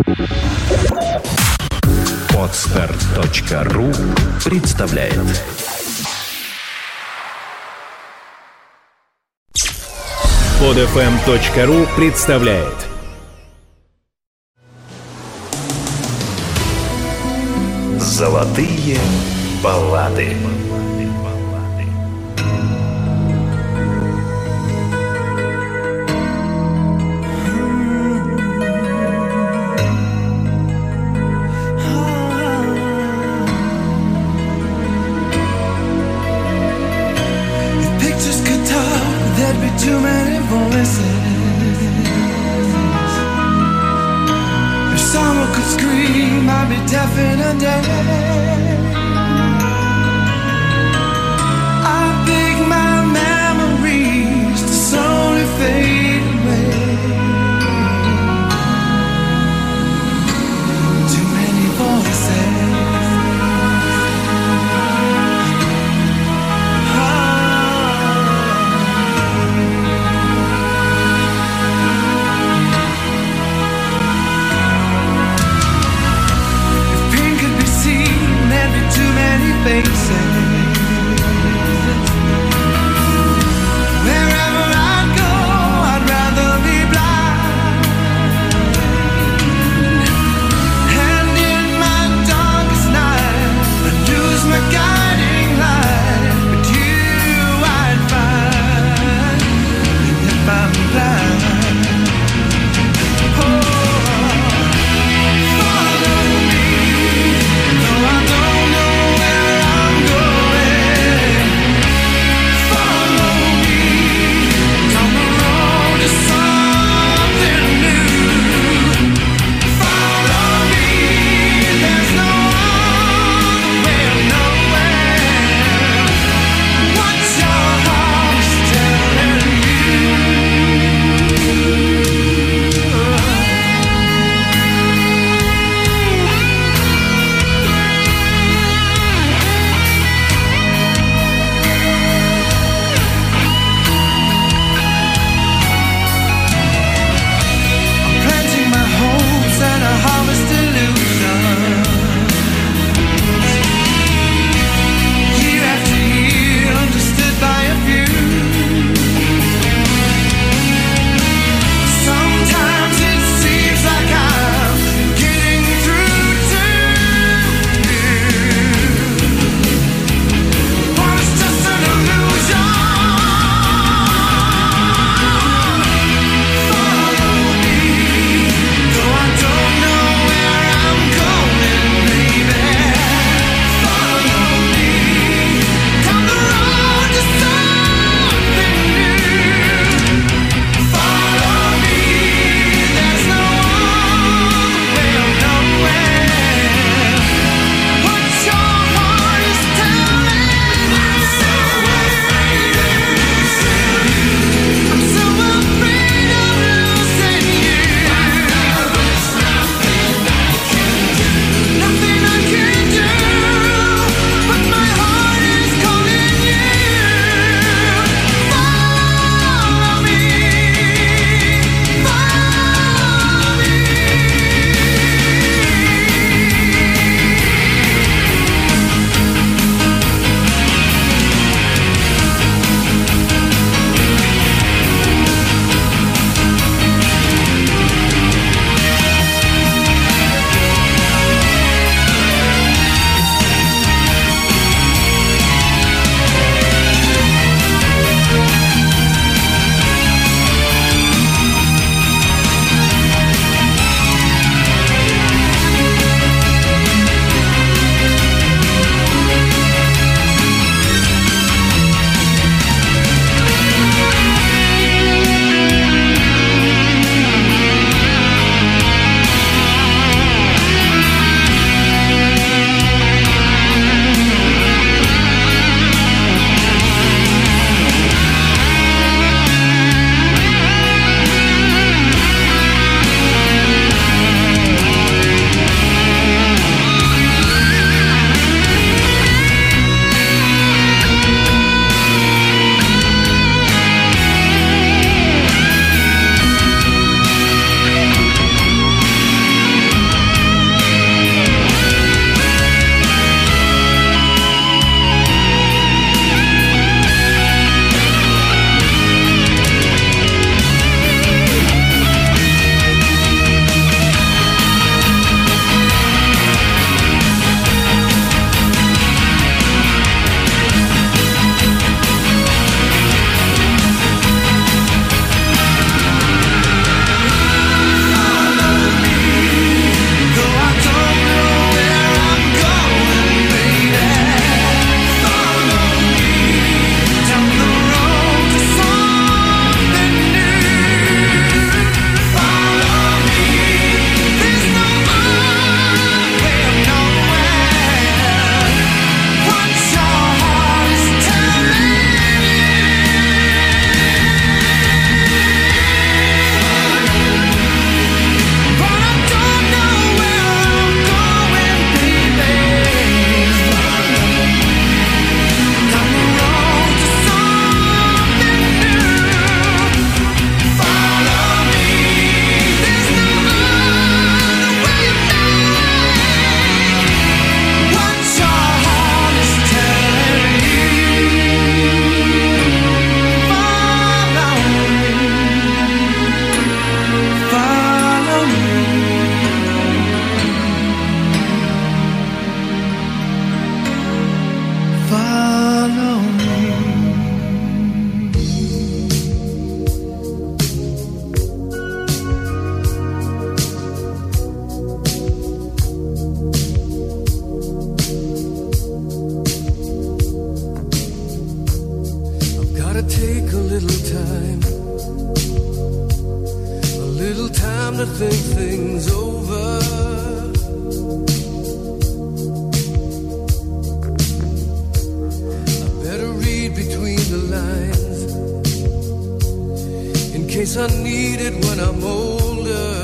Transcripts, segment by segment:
Podster.ru представляет. Podfm.ru представляет. Золотые баллады. Too many voices. If someone could scream, I'd be deaf in a day. I think my memories to slowly fade away. Too many voices. Faces. Wherever I go, I'd rather be blind. And in my darkest night, I'd lose my guiding light. But you I'd find, and if I'm blind, follow me, though I don't know where I'm I need it when I'm older.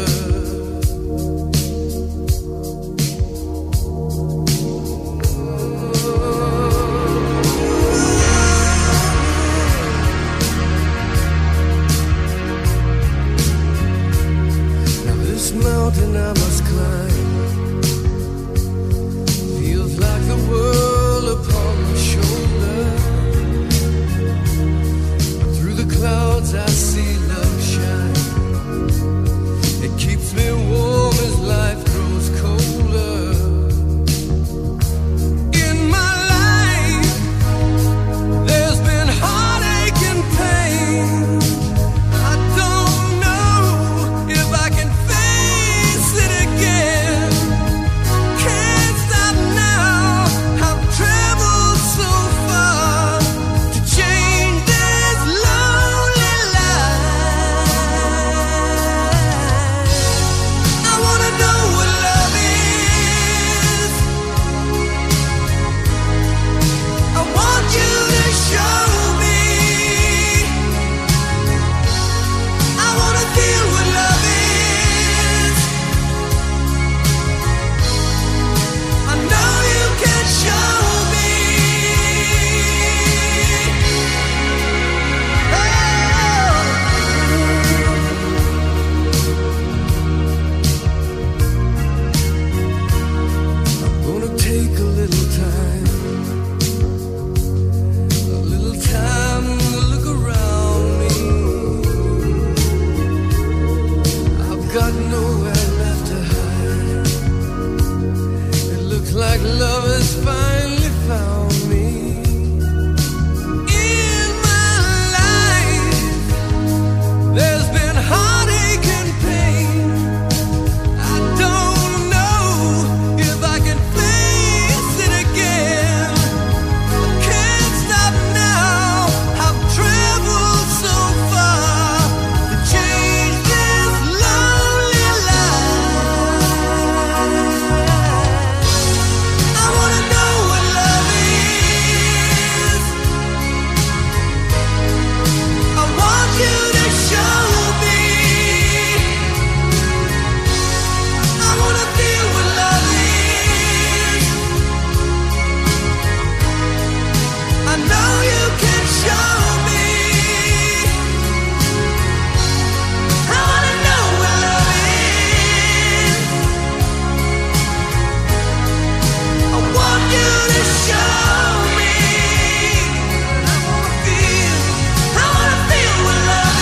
Now this mountain I must climb feels like the world upon my shoulder. Through the clouds I see love shine. It keeps me warm as life grows colder. In my life there's been heartache and pain. I don't know if I can face it again. Can't stop now. I've traveled so far to change this lonely life. I wanna know what love is. I want you to show me. I wanna feel what love is. I know you can show me. I'm gonna take a little time to look around me. I've got nowhere left to hide. It looks like love has finally found me. In my life, there's been heartache and pain. I don't know if I can face it again. I can't stop now. I've traveled so far to change this lonely life. I wanna know what love is. I want you to show me. I wanna feel what love is. I know you can show me. I wanna know what love is. I want you to show me. I wanna feel what love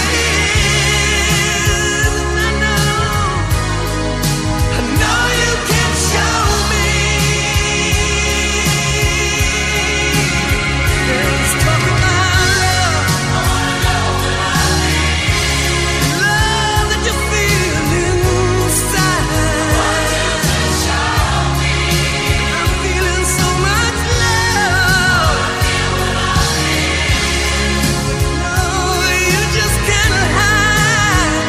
is. I know you can show me. Let's talk about love. I wanna know what love is. Love that you feel inside. I'm feeling so much love. No, you just can't hide.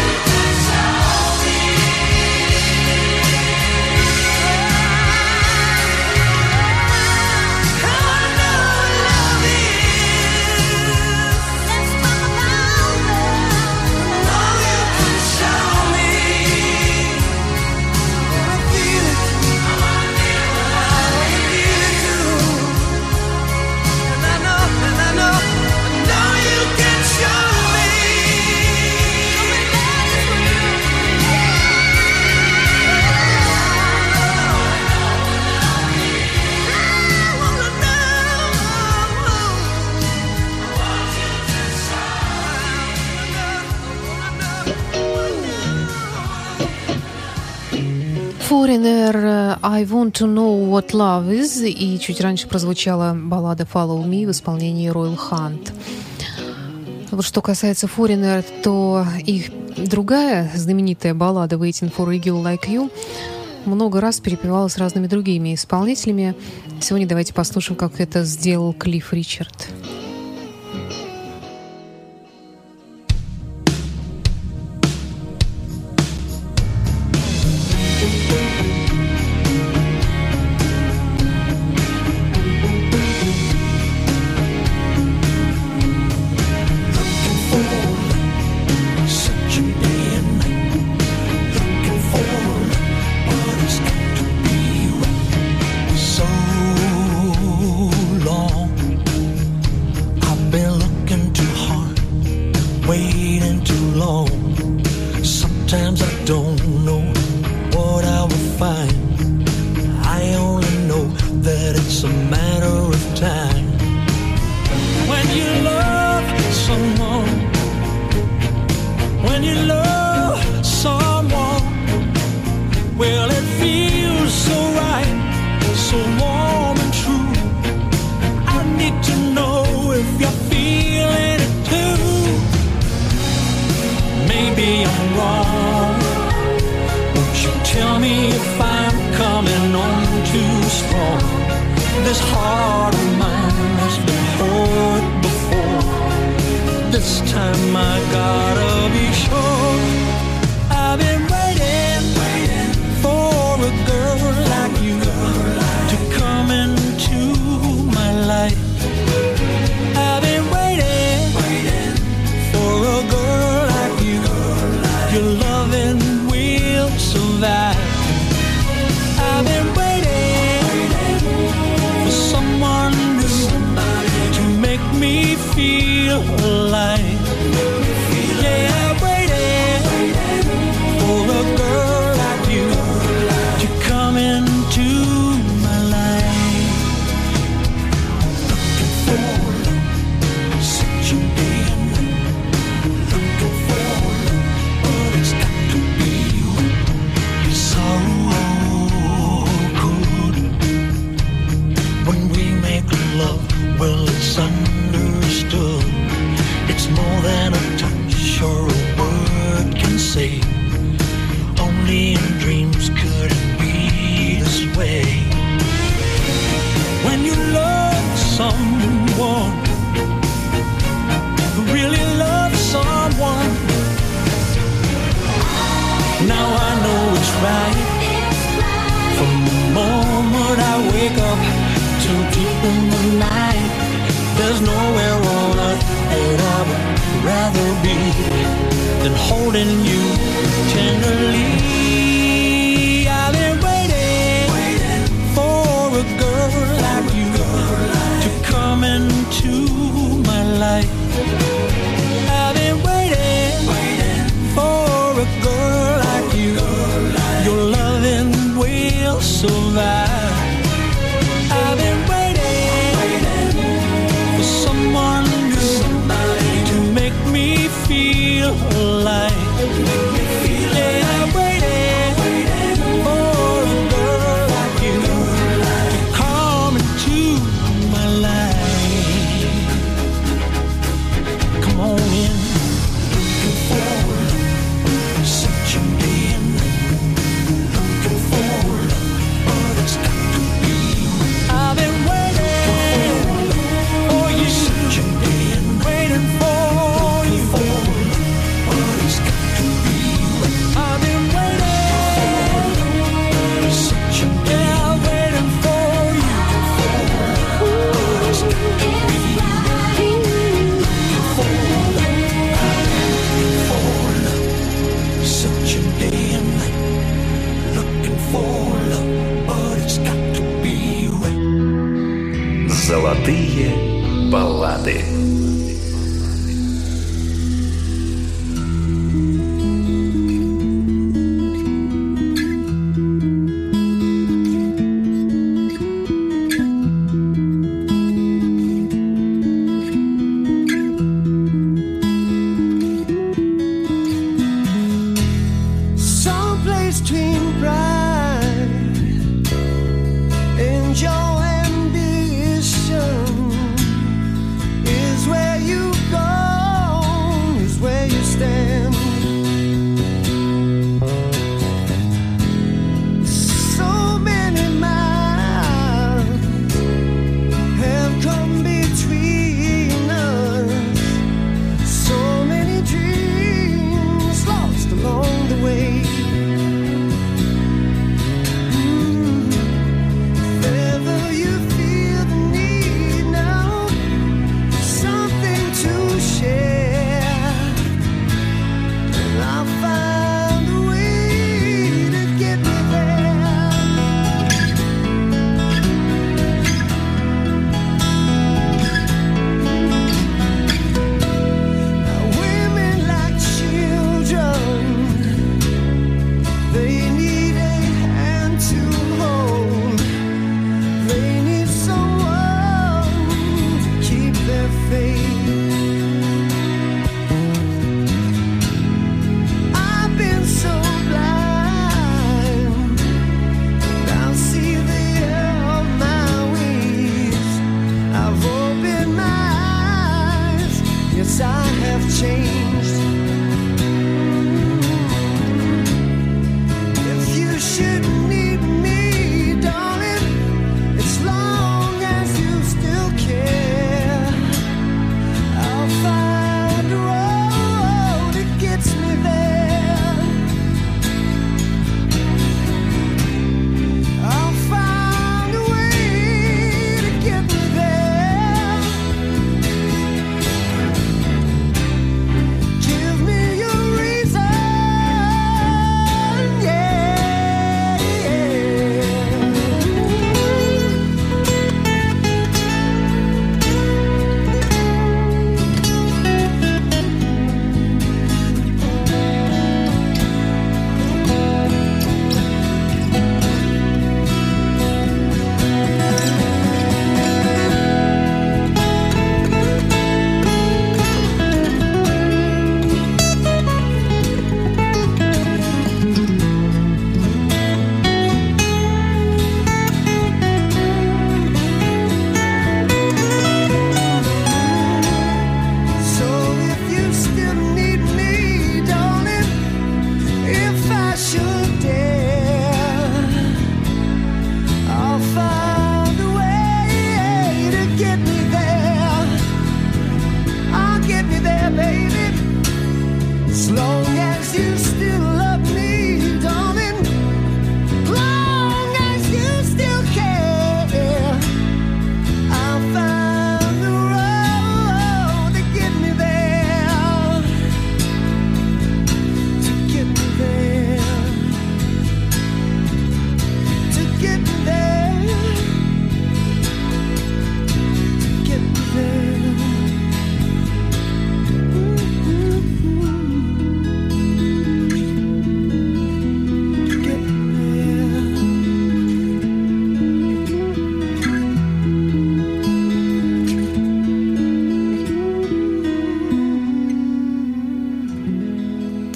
I wanna know what love is. Let's talk about love. Oh, you can show me. I wanna feel it. I wanna feel it too. And I know you can show me. I wanna Foreigner, I Want to Know What Love Is, и чуть раньше прозвучала баллада Follow Me в исполнении Royal Hunt. Вот что касается Foreigner, то их другая знаменитая баллада Waiting for a Girl Like You много раз перепевалась разными другими исполнителями. Сегодня давайте послушаем, как это сделал Клифф Ричард. find. I only know that it's a matter of time. When you love someone, when you love someone, well, it feels so right, so warm and true. I need to know if you're feeling it too. Maybe I'm wrong. Won't you tell me if I'm coming on too strong? This heart of mine has been hurt before. This time I gotta be sure. I've been waiting for a girl like you to come into my life. I've been waiting for a girl like you. Your loving will survive. I've been waiting for someone new to make me feel alive. Yeah, I'm waiting for a girl like you to come into my life. Looking for love, such a being. Looking for love, but it's got to be you. So good when we make love. Well, it's understood. It's more than a touch or a word can say. Only in dreams could it be this way. When you love someone, really love someone, now I know it's right. From the moment I wake up till deep in the night, there's nowhere on earth that I would rather be than holding you tenderly. I've been waiting for a girl like you to come into my life. I've been waiting for a girl like you. Your loving will survive. I've been waiting for someone new to make me feel alive. Yeah, I'm waiting for a girl like you to come into my life. Come on in. Looking for love, such a being. Looking for love, but it's got to be you. I've been waiting for you, such a being. Waiting for you, but it's got to be you. I've been waiting, such a being. Yeah, waiting for you, but it's got to be you. Looking for love, such a being. Looking for love, but it's got to be you. Золотые баллады. Someplace between pride and your ambition is where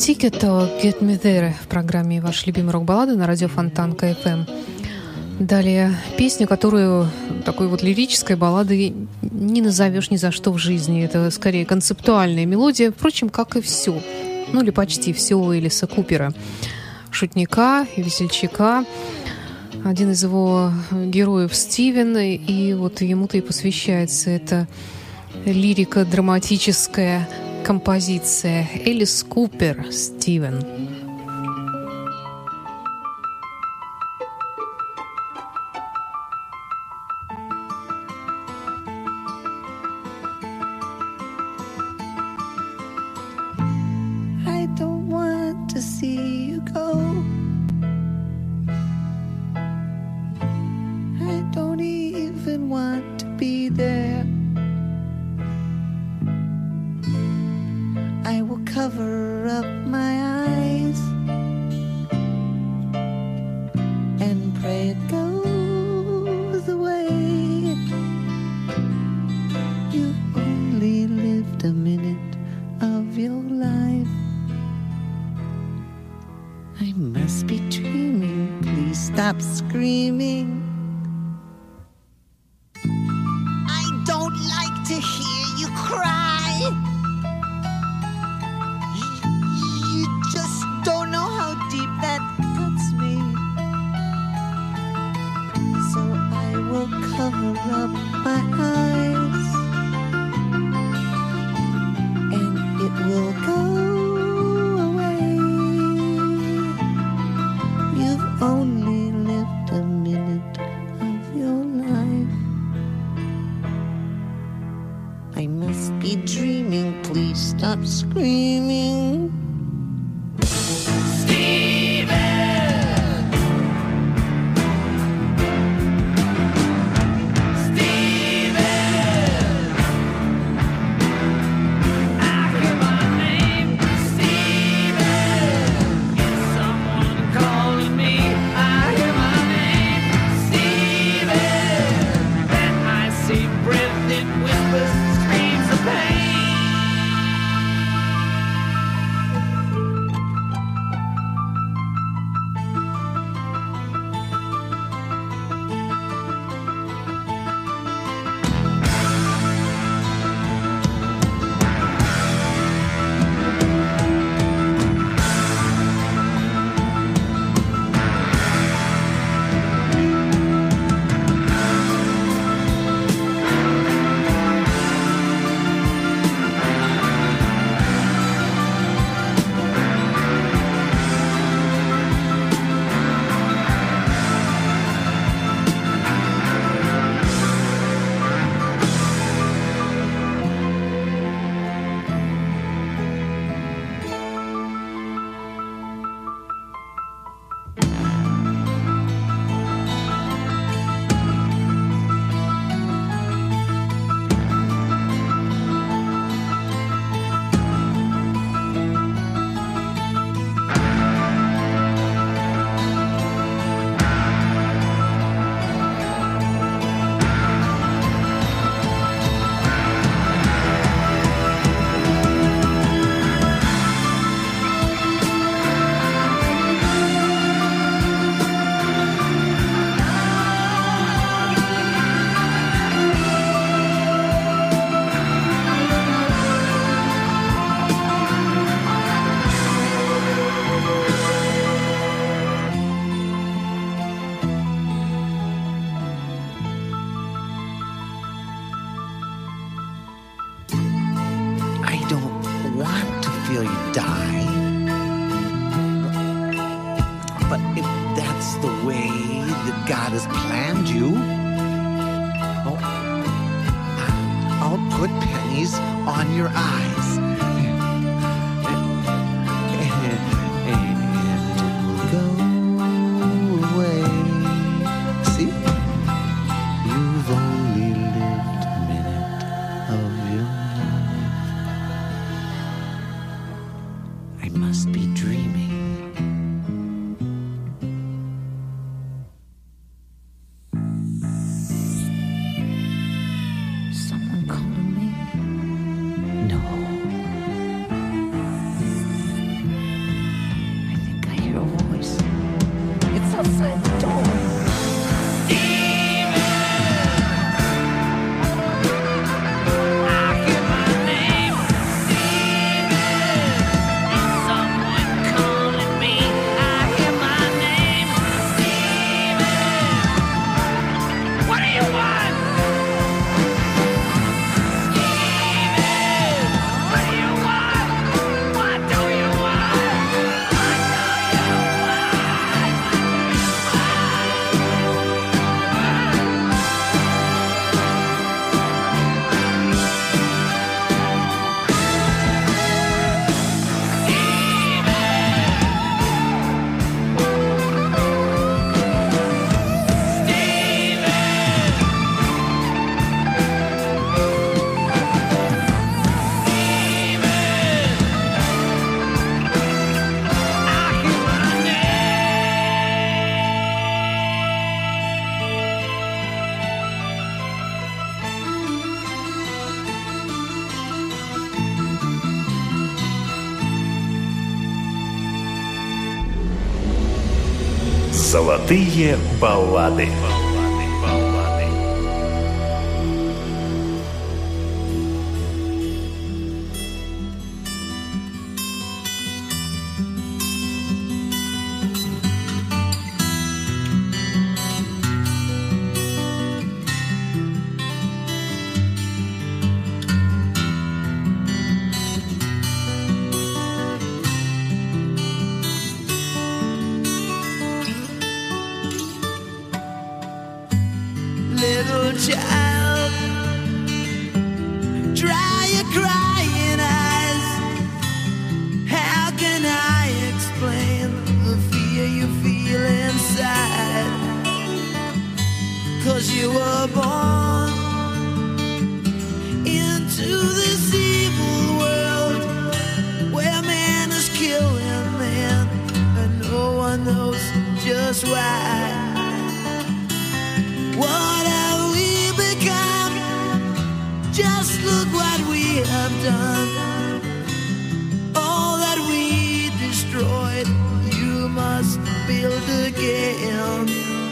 Ticket Get Me There в программе «Ваши любимые рок-баллады» на радио Фонтан КФМ. Далее песню, которую такой вот лирической балладой не назовешь ни за что в жизни. Это скорее концептуальная мелодия, впрочем, как и все. Ну или почти все у Элиса Купера. Шутника и весельчака. Один из его героев Стивен, и вот ему-то и посвящается эта лирико-драматическая композиция. Элис Купер, Стивен. I don't want to see you go. I don't even want to be there. I will cover up my eyes and pray it goes away. You only lived a minute of your life. I must be dreaming. Please stop screaming. I don't like to hear you cry. You just don't know how deep that cuts me. So I will cover up my eyes, and it will go away. You've only lived a minute of your life. I must be dreaming. Please stop screaming. Feel you die. But if that's the way that God has planned you, oh, I'll put pennies on your eyes. And it will go away. See? You've only lived a minute of your life. I must be dreaming. Someone calling me? No. outside the door. Золотые баллады. Little child, dry your crying eyes. How can I explain the fear you feel inside? 'Cause you were born into this evil world where man is killing man and no one knows just why. What have we become? Just look what we have done. All that we destroyed, you must build again.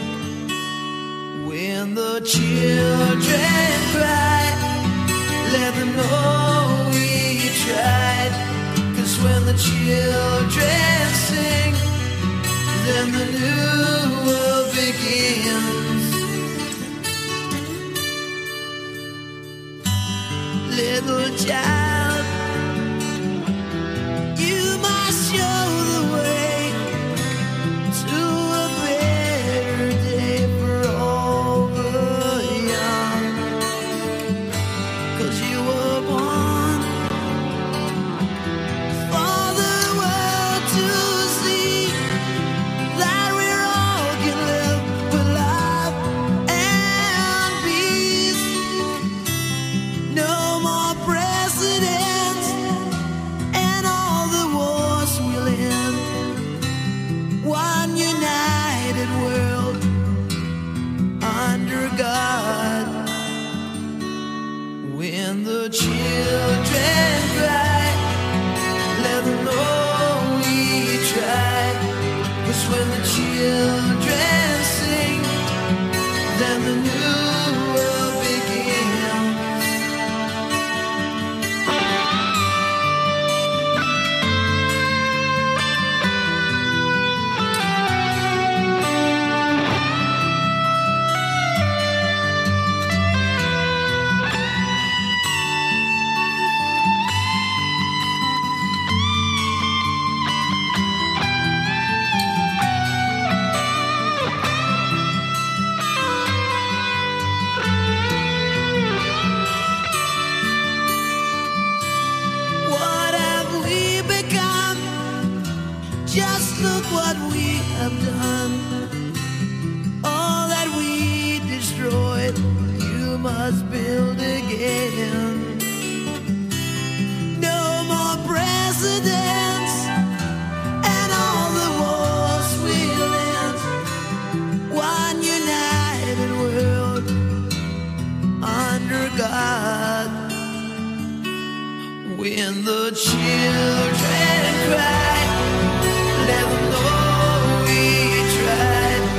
When the children cry, let them know we tried. 'Cause when the children sing, then the new world begins. Little child, you must show the way to a better day for all the young. 'Cause you were born for the world to see that we all can live with love and peace. No more presidents, and all the wars will end. One united world under God. When the children cry, let them know we tried. 'Cause when the children sing, then the new world begins. What have we become? Just look what we have done. All that we destroyed, you must build again. No more presidents, and all the wars will end. One united world under God. When the children cry, let them know we tried.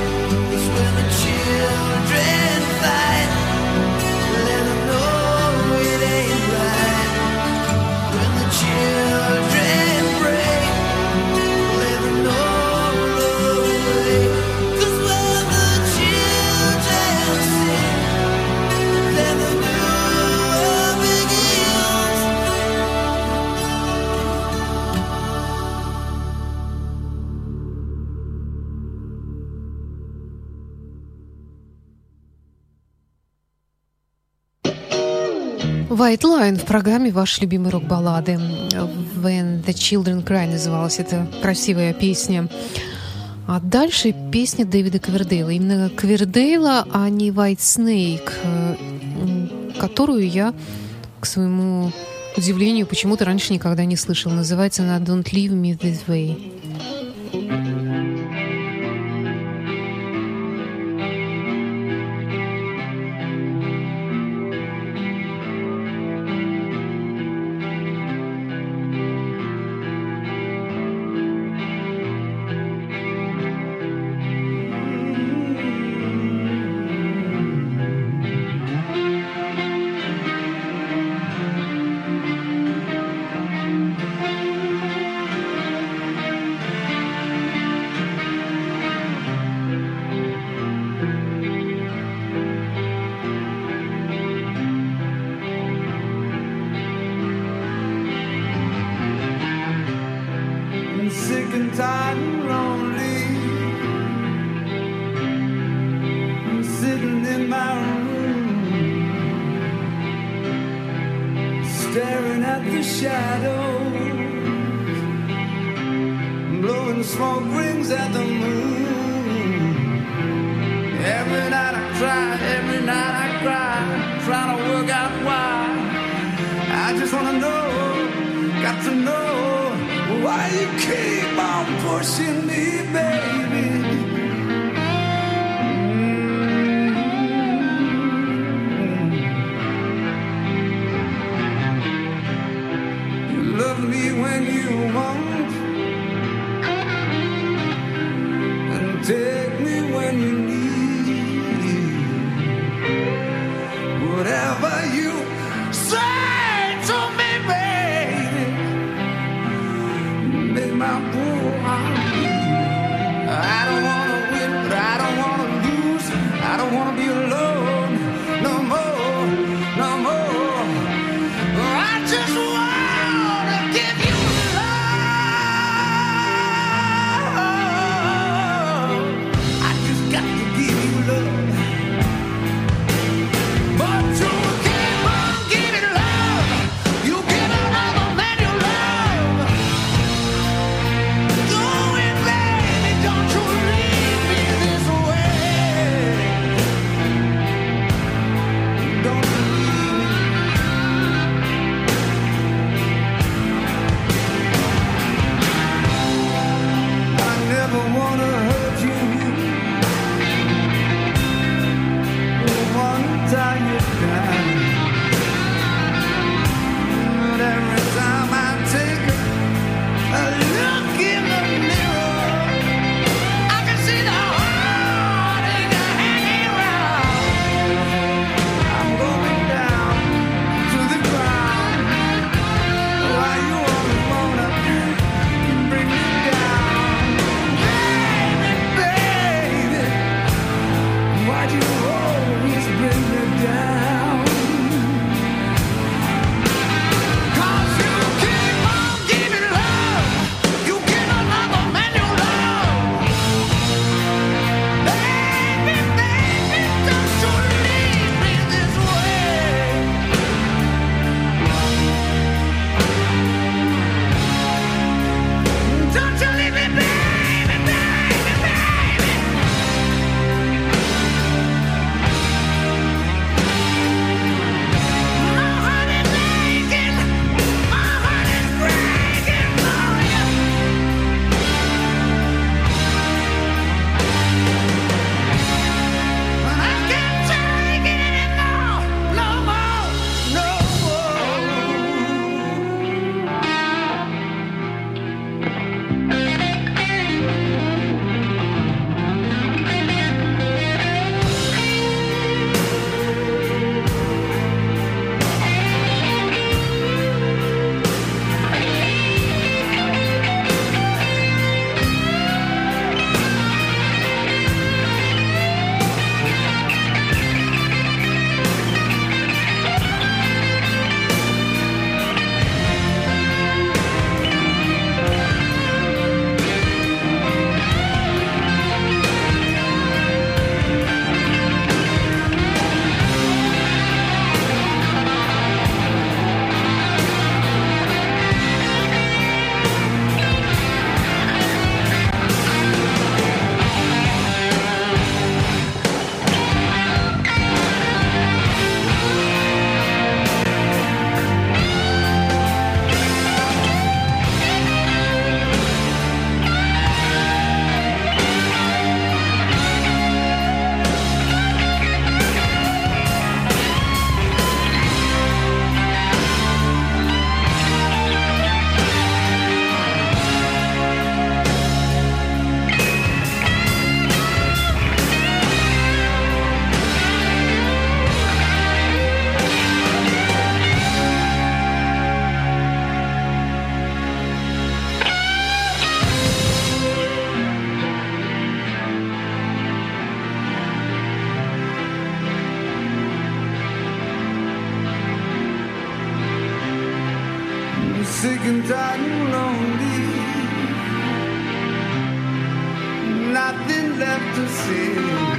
White Line в программе «Ваши любимые рок-баллады». When the Children Cry называлась эта красивая песня. А дальше песня Дэвида Ковердейла. Именно Ковердейла, а не White Snake, которую я, к своему удивлению, почему-то раньше никогда не слышал. Называется она «Don't Leave Me This Way». Sick and tired and lonely, I'm sitting in my room, staring at the shadows, blowing smoke rings at the moon. Every night I cry, trying to work out why. I just wanna know, got to know, why you keep on pushing me, baby? You love me when you want, and take me when you need. Whatever you say to me, baby, make my poor heart bleed. and tired and lonely. Nothing left to say.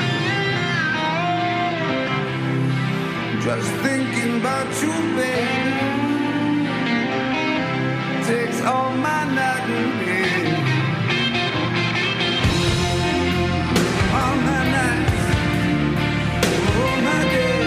Just thinking about you, baby, takes all my night and day. All my nights, all my days.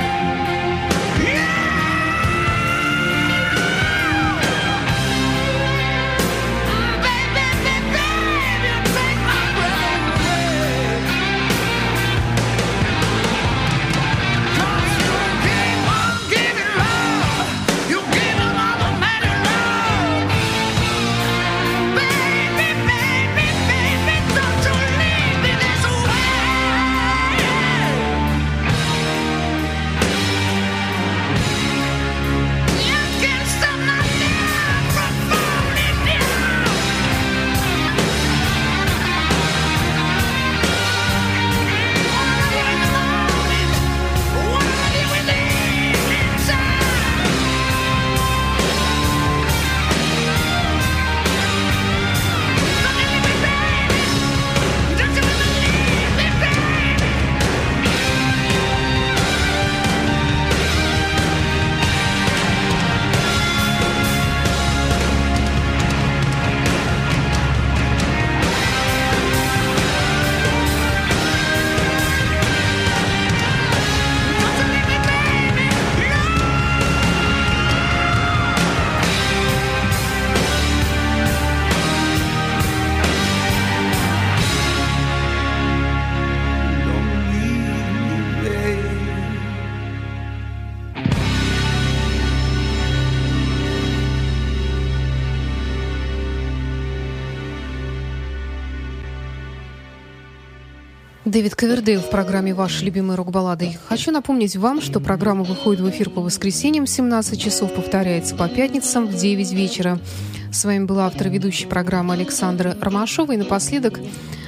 Дэвид Ковердейл в программе «Ваши любимые рок-баллады». Хочу напомнить вам, что программа выходит в эфир по воскресеньям в 17 часов, повторяется по пятницам в 9 вечера. С вами была автор и ведущая программы Александра Ромашова. И напоследок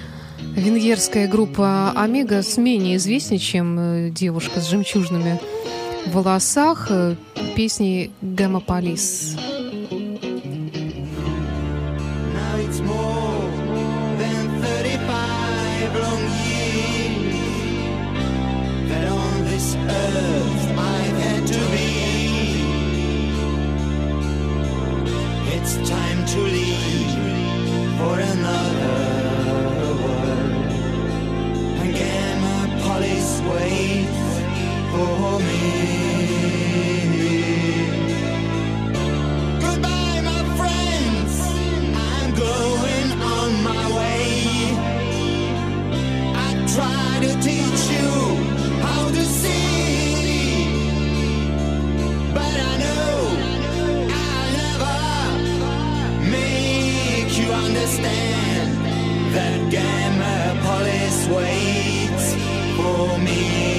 венгерская группа «Омега» с менее известней, чем девушка с жемчужными в волосах, песни «Гамополис». It's time to leave for another world. And Gamapolis waits for me. Goodbye, my friends. I'm going on my way. I try to teach you how to see, but I know understand that Gamapolis waits for me.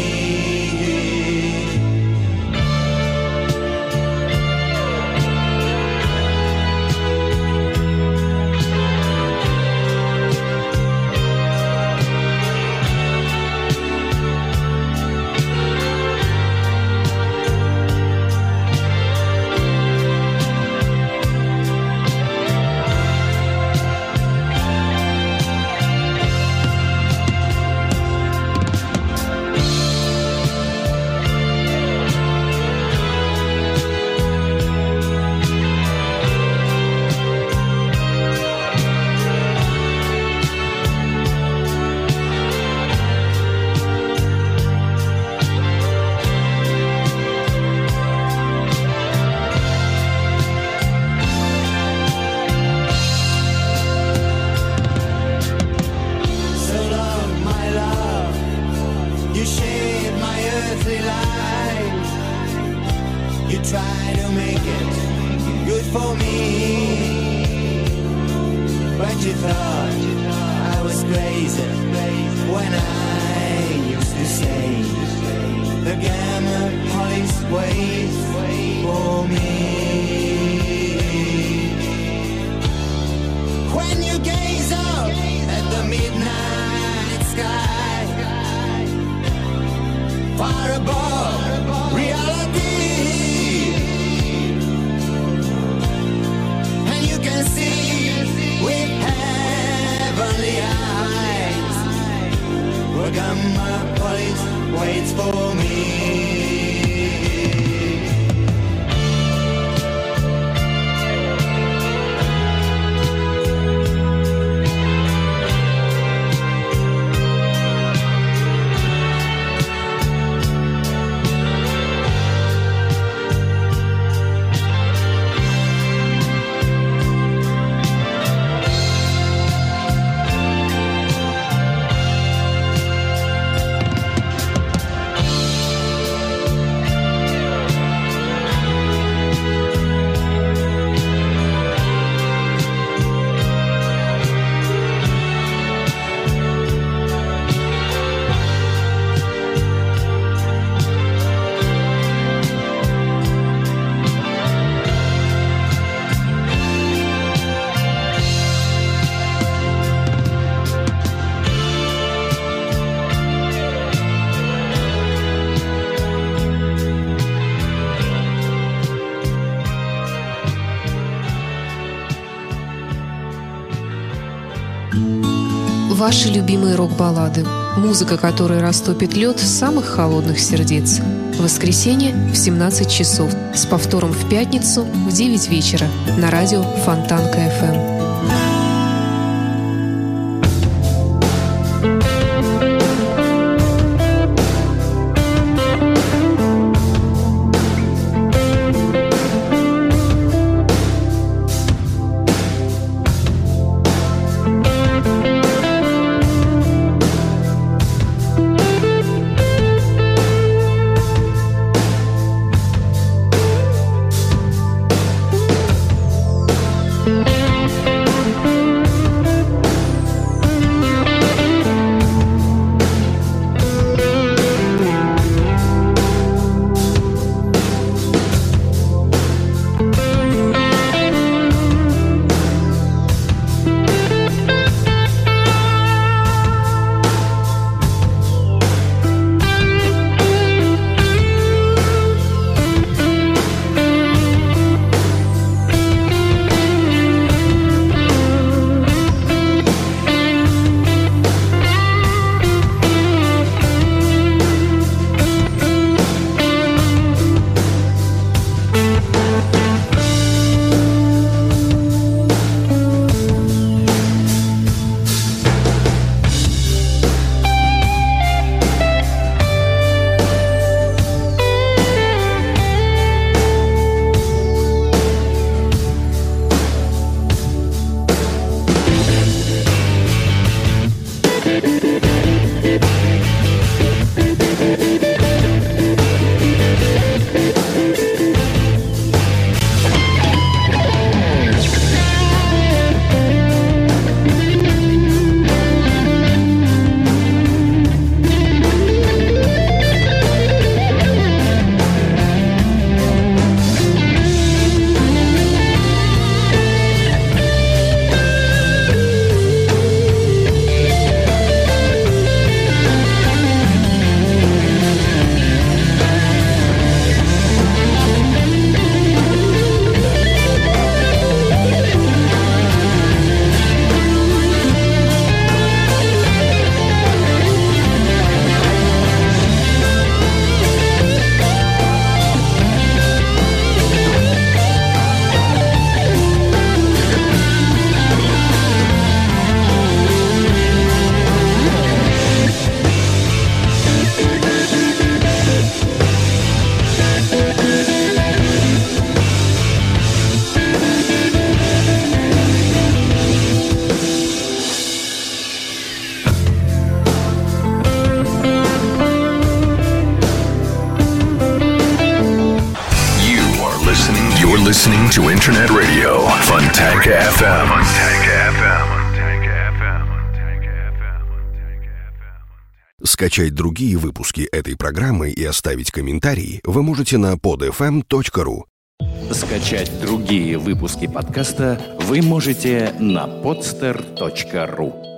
Try to make it good for me, but you thought I was crazy when I used to say the Gamapolis waits for me. When you gaze up at the midnight sky, far above reality, and my plate waits for me. Ваши любимые рок-баллады. Музыка, которая растопит лед самых холодных сердец. В воскресенье в 17 часов. С повтором в пятницу в 9 вечера. На радио Фонтанка FM. listening to Internet Radio Fontanka FM. Скачать другие выпуски этой программы и оставить комментарии вы можете на podfm.ru. Скачать другие выпуски подкаста вы можете на podster.ru.